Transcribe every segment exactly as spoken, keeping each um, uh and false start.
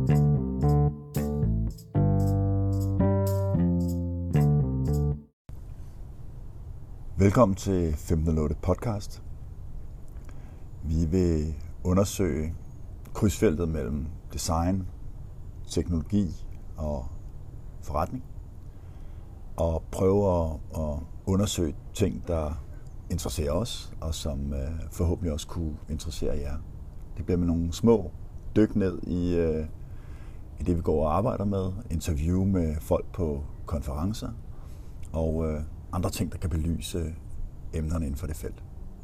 Velkommen til femten nul otte podcast. Vi vil undersøge krydsfeltet mellem design, teknologi og forretning. Og prøve at, at undersøge ting, der interesserer os, og som uh, forhåbentlig også kunne interessere jer. Det bliver med nogle små dyk ned i, uh, i det, vi går og arbejder med. Interview med folk på konferencer og uh, andre ting, der kan belyse emnerne inden for det felt.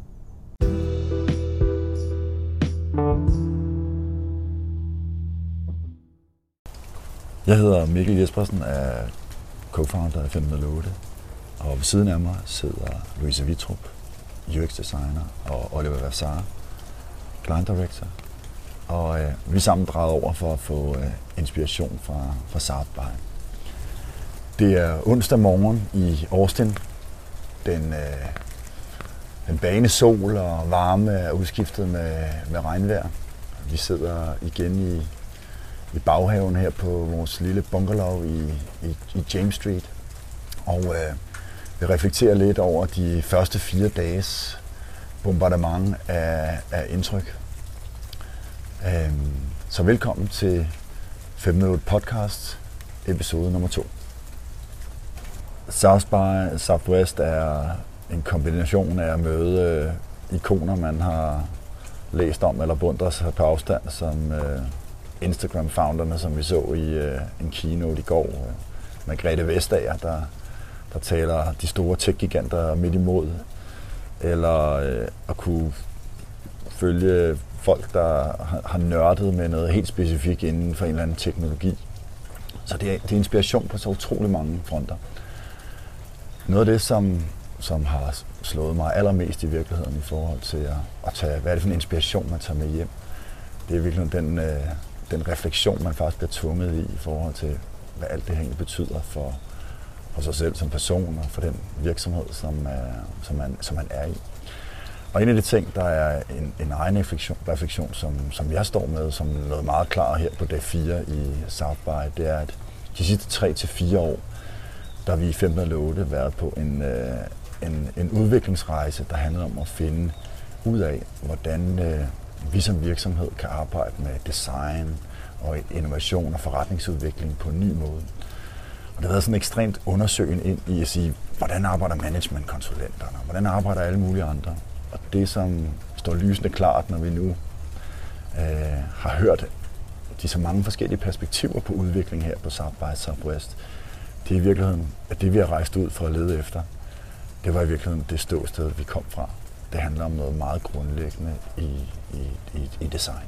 Jeg hedder Mikkel Jespersen, er co-founder af femten nul otte, og ved siden af mig sidder Louise Vitrup, U X designer, og Oliver Vassar, client director. Og øh, vi er sammen draget over for at få øh, inspiration fra, fra South by. Det er onsdag morgen i Austin. Den, øh, den bane sol og varme er udskiftet med, med regnvejr. Vi sidder igen i, i baghaven her på vores lille bungalow i, i, i James Street. Og øh, vi reflekterer lidt over de første fire dages bombardement af, af indtryk. Øh, så velkommen til femten nul otte podcast, episode nummer to. South by Southwest er en kombination af at møde øh, ikoner, man har læst om eller beundret sig på afstand, som øh, Instagram-founderne, som vi så i øh, en keynote i går. Øh, Margrethe Vestager, der, der taler de store tech-giganter midt imod. Eller øh, at kunne følge folk, der har, har nørdet med noget helt specifikt inden for en eller anden teknologi. Så det er, det er inspiration på så utrolig mange fronter. Noget af det, som, som har slået mig allermest i virkeligheden i forhold til at, at tage, hvad er det for en inspiration, man tager med hjem, det er virkelig den, øh, den refleksion, man faktisk bliver tvunget i i forhold til, hvad alt det egentlig betyder for, for sig selv som person og for den virksomhed, som, øh, som, man, som man er i. Og en af de ting, der er en, en egen refleksion, refleksion som, som jeg står med, som noget meget klart her på dag fire i South by, det er, at de sidste tre til fire år, der har vi i femten nul otte været på en, øh, en, en udviklingsrejse, der handler om at finde ud af, hvordan øh, vi som virksomhed kan arbejde med design og innovation og forretningsudvikling på en ny måde. Og det har været sådan ekstremt undersøgende ind i at sige, hvordan arbejder managementkonsulenterne, hvordan arbejder alle mulige andre. Og det, som står lysende klart, når vi nu øh, har hørt de så mange forskellige perspektiver på udvikling her på South by Southwest, det er i virkeligheden, at det vi har rejst ud for at lede efter, det var i virkeligheden det ståsted, vi kom fra. Det handler om noget meget grundlæggende i, i, i, i design.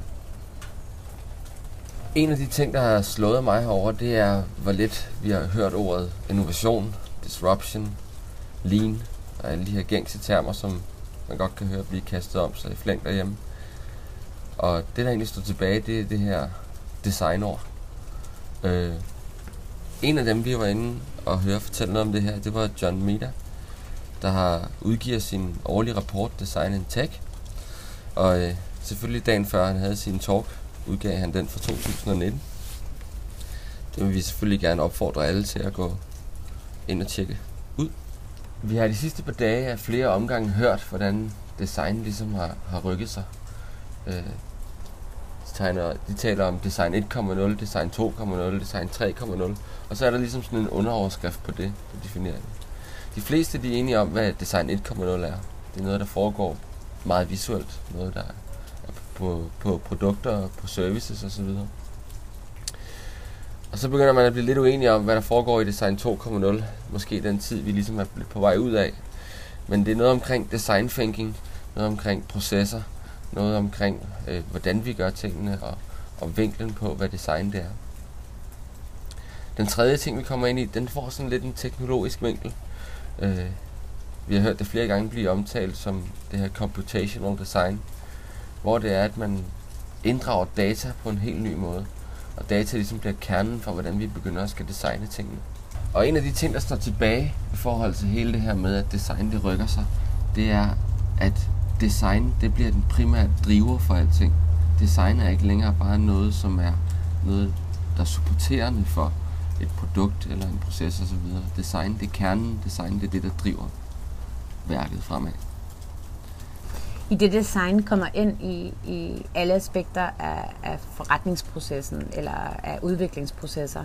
En af de ting, der har slået mig herover, det er, hvor lidt vi har hørt ordet innovation, disruption, lean og alle de her gængse termer, som man godt kan høre blive kastet om sig i flæng derhjemme. Og det, der egentlig står tilbage, det er det her designord. Øh, En af dem, vi var inde og høre fortælle noget om det her, det var John Meda, der har udgivet sin årlige rapport Design in Tech. Og øh, selvfølgelig dagen før han havde sin talk, udgav han den for to tusind nitten. Det vil vi selvfølgelig gerne opfordre alle til at gå ind og tjekke ud. Vi har de sidste par dage af flere omgange hørt, hvordan design ligesom har, har rykket sig. Øh, Tegner, de taler om design et komma nul, design to komma nul, design tre komma nul, og så er der ligesom sådan en underoverskrift på det, der definerer det. De fleste de er enige om, hvad design et komma nul er. Det er noget, der foregår meget visuelt, noget der er på, på produkter, på services osv. Og så begynder man at blive lidt uenige om, hvad der foregår i design to komma nul, måske den tid, vi ligesom er på vej ud af. Men det er noget omkring design thinking, noget omkring processer, noget omkring, øh, hvordan vi gør tingene, og, og vinklen på, hvad design det er. Den tredje ting, vi kommer ind i, den får sådan lidt en teknologisk vinkel. Øh, vi har hørt det flere gange blive omtalt som det her computational design, hvor det er, at man inddrager data på en helt ny måde. Og data ligesom bliver kernen for, hvordan vi begynder at skal designe tingene. Og en af de ting, der står tilbage i forhold til hele det her med, at design det rykker sig, det er, at design det bliver den primære driver for alting. Design er ikke længere bare noget, som er noget, der er supporterende for et produkt eller en proces osv. Design, det er kernen. Design, det er det, der driver værket fremad. I det design kommer ind i, i alle aspekter af, af forretningsprocessen eller af udviklingsprocesser,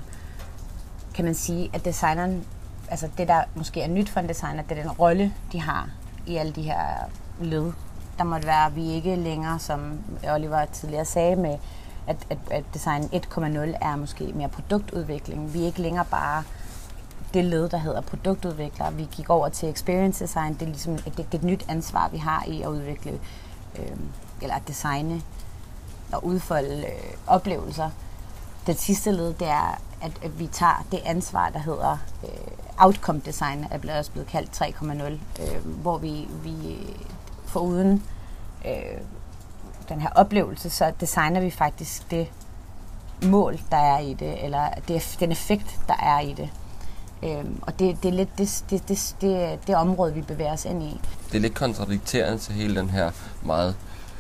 kan man sige, at designeren, altså det der måske er nyt for en designer, det er den rolle, de har i alle de her led. Der måtte være, at vi ikke længere, som Oliver tidligere sagde, med at, at, at design et komma nul er måske mere produktudvikling. Vi er ikke længere bare det led, der hedder produktudvikler. Vi gik over til experience design. Det er ligesom et, det er et nyt ansvar, vi har i at udvikle, øh, eller at designe og udfolde øh, oplevelser. Det sidste led, det er, at, at vi tager det ansvar, der hedder øh, outcome design, er blevet også blevet kaldt tre komma nul, øh, hvor vi, vi foruden øh, den her oplevelse, så designer vi faktisk det mål, der er i det, eller det, den effekt, der er i det. Øhm, og det, det er lidt det, det, det, det, det område, vi bevæger os ind i. Det er lidt kontradikterende til hele den her meget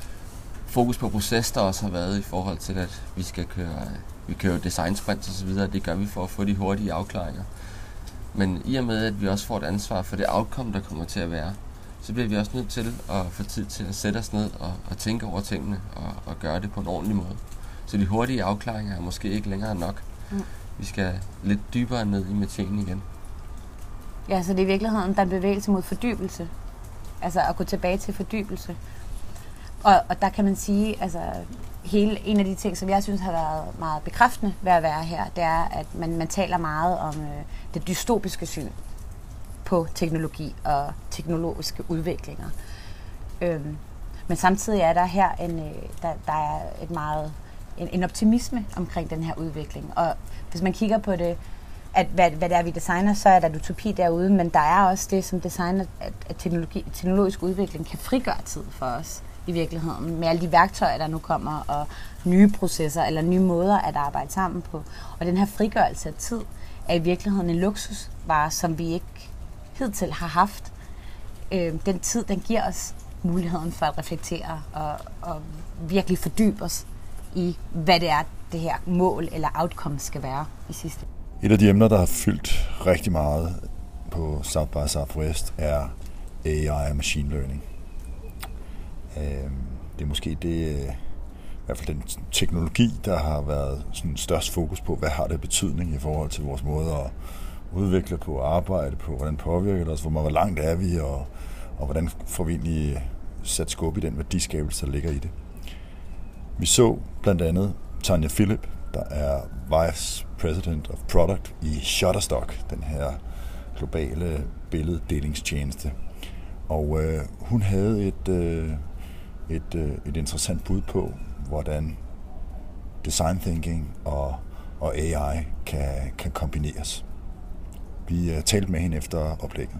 fokus på proces, der også har været i forhold til, at vi skal køre, vi kører design sprints og så videre. Det gør vi for at få de hurtige afklaringer. Men i og med, at vi også får et ansvar for det outcome, der kommer til at være, så bliver vi også nødt til at få tid til at sætte os ned og, og tænke over tingene og, og gøre det på en ordentlig måde. Så de hurtige afklaringer er måske ikke længere nok. Mm. Vi skal lidt dybere ned i materien igen. Ja, så det er i virkeligheden, der er en bevægelse mod fordybelse. Altså at gå tilbage til fordybelse. Og, og der kan man sige, altså hele, en af de ting, som jeg synes har været meget bekræftende ved at være her, det er, at man, man taler meget om øh, det dystopiske syn på teknologi og teknologiske udviklinger. Øhm, men samtidig er der her en, øh, der, der er et meget, en, en optimisme omkring den her udvikling. Og hvis man kigger på det, at hvad, hvad det er, vi designer, så er der utopi derude, men der er også det, som designer, at, at teknologi, teknologisk udvikling kan frigøre tid for os i virkeligheden, med alle de værktøjer, der nu kommer, og nye processer, eller nye måder at arbejde sammen på. Og den her frigørelse af tid er i virkeligheden en luksusvare, som vi ikke hidtil har haft. Øh, den tid, den giver os muligheden for at reflektere og, og virkelig fordybe os i, hvad det er, det her mål eller outcome skal være i sidste. Et af de emner, der har fyldt rigtig meget på South by Southwest, er A I og machine learning. Det er måske det, i hvert fald den teknologi, der har været sådan størst fokus på, hvad har det betydning i forhold til vores måde at udvikle på, arbejde på, hvordan påvirker det os, hvor langt er vi, og, og hvordan får vi egentlig sat skub i den værdiskabelse, der ligger i det. Vi så blandt andet Tanya Philip, der er Vice President of Product i Shutterstock, den her globale billeddelingstjeneste. Og øh, hun havde et, øh, et, øh, et interessant bud på, hvordan design thinking og, og A I kan, kan kombineres. Vi øh, talte med hende efter oplægget.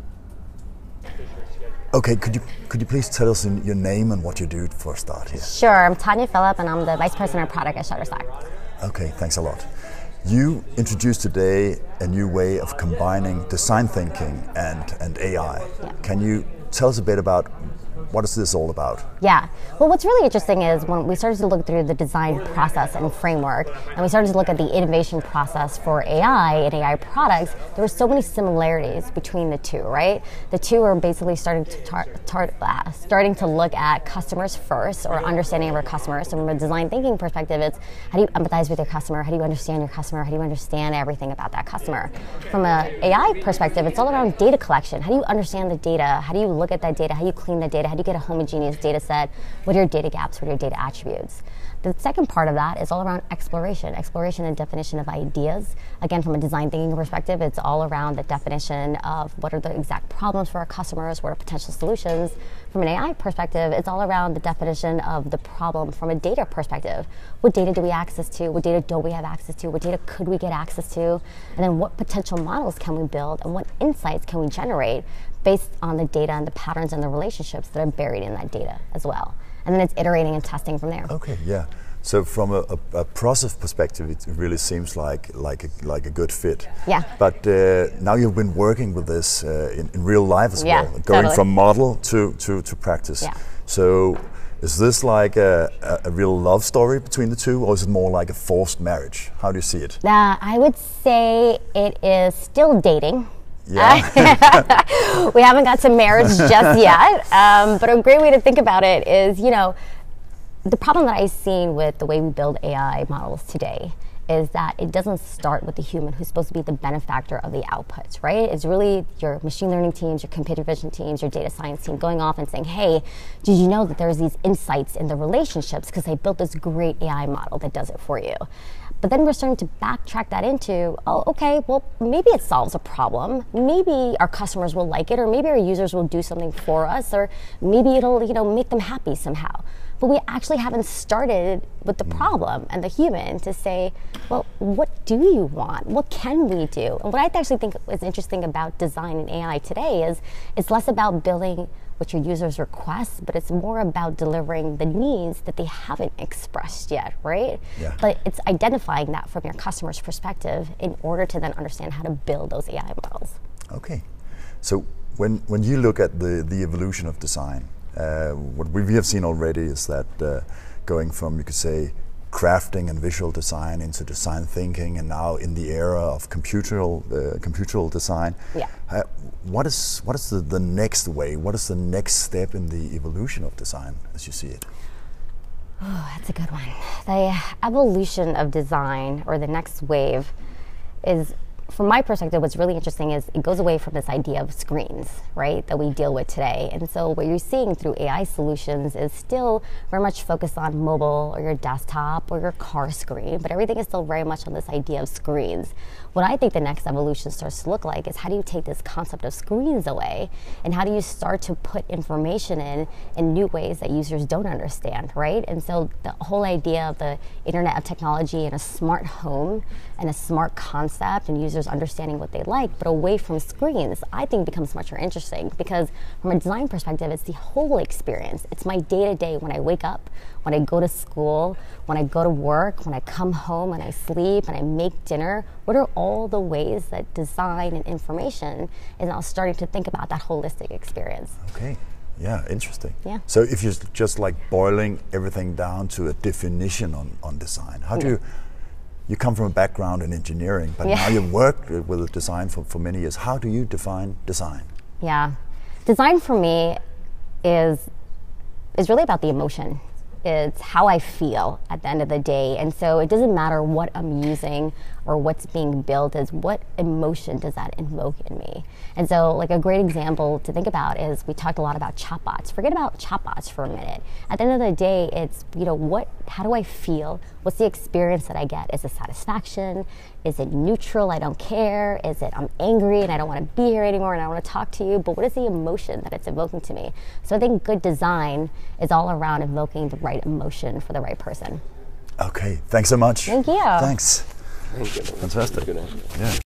Okay, could you could you please tell us your name and what you do for a start here? Sure, I'm Tanya Phillip and I'm the Vice President of Product at Shutterstock. Okay, thanks a lot. You introduced today a new way of combining design thinking and, and A I. Yeah. Can you tell us a bit about what is this all about? Yeah. Well, what's really interesting is when we started to look through the design process and framework, and we started to look at the innovation process for A I and A I products, there were so many similarities between the two, right? The two are basically starting to tar- tar- uh, starting to look at customers first, or understanding of our customers. So from a design thinking perspective, it's how do you empathize with your customer? How do you understand your customer? How do you understand everything about that customer? From an A I perspective, it's all around data collection. How do you understand the data? How do you look at that data? How do you clean the data? How do you get a homogeneous data set? What are your data gaps? What are your data attributes? The second part of that is all around exploration. Exploration and definition of ideas. Again, from a design thinking perspective, it's all around the definition of what are the exact problems for our customers, what are potential solutions. From an A I perspective, it's all around the definition of the problem from a data perspective. What data do we access to? What data don't we have access to? What data could we get access to? And then what potential models can we build? And what insights can we generate based on the data and the patterns and the relationships that are buried in that data as well? And then it's iterating and testing from there. Okay, yeah. So from a, a, a process perspective, it really seems like like a, like a good fit. Yeah. But uh, now you've been working with this uh, in, in real life as yeah, well, going totally. from model to, to, to practice. Yeah. So Is this like a, a, a real love story between the two, or is it more like a forced marriage? How do you see it? Uh, I would say it is still dating. Yeah. We haven't got to marriage just yet, um, but a great way to think about it is, you know, the problem that I've seen with the way we build A I models today is that it doesn't start with the human who's supposed to be the benefactor of the outputs, right? It's really your machine learning teams, your computer vision teams, your data science team going off and saying, hey, did you know that there's these insights in the relationships because I built this great A I model that does it for you. But then we're starting to backtrack that into, oh, okay, well, maybe it solves a problem. Maybe our customers will like it, or maybe our users will do something for us, or maybe it'll, you know, make them happy somehow. But we actually haven't started with the problem and the human to say, well, what do you want? What can we do? And what I actually think is interesting about design and A I today is it's less about building what your users request, but it's more about delivering the needs that they haven't expressed yet, right? Yeah. But it's identifying that from your customer's perspective in order to then understand how to build those A I models. Okay. So when when you look at the, the evolution of design, uh, what we have seen already is that uh, going from, you could say, crafting and visual design into design thinking, and now in the era of computeral uh, computeral design. Yeah. Uh, what is what is the, the next way? What is the next step in the evolution of design as you see it? Oh, that's a good one. The evolution of design, or the next wave, is, from my perspective, what's really interesting is it goes away from this idea of screens, right, that we deal with today. And so what you're seeing through A I solutions is still very much focused on mobile or your desktop or your car screen, but everything is still very much on this idea of screens. What I think the next evolution starts to look like is how do you take this concept of screens away, and how do you start to put information in in new ways that users don't understand, right? And so the whole idea of the Internet of Technology and a smart home and a smart concept and users understanding what they like, but away from screens, I think becomes much more interesting, because from a design perspective, it's the whole experience. It's my day-to-day when I wake up, when I go to school, when I go to work, when I come home, and I sleep, and I make dinner. What are all the ways that design and information is now starting to think about that holistic experience? Okay. Yeah, interesting. Yeah. So if you're just like boiling everything down to a definition on, on design, how do you, you come from a background in engineering, but Yeah. now you've worked with design for, for many years. How do you define design? Yeah. Design for me is is really about the emotion. It's how I feel at the end of the day. And so it doesn't matter what I'm using or what's being built, is what emotion does that invoke in me. And so like a great example to think about is we talked a lot about chatbots. Forget about chatbots for a minute. At the end of the day, it's, you know, what, how do I feel? What's the experience that I get? Is it satisfaction? Is it neutral? I don't care. Is it I'm angry and I don't want to be here anymore and I don't want to talk to you? But what is the emotion that it's evoking to me? So I think good design is all around evoking the right emotion for the right person. Okay, thanks so much. Thank you. Thanks. Thank you. Fantastic. Good answer. Yeah.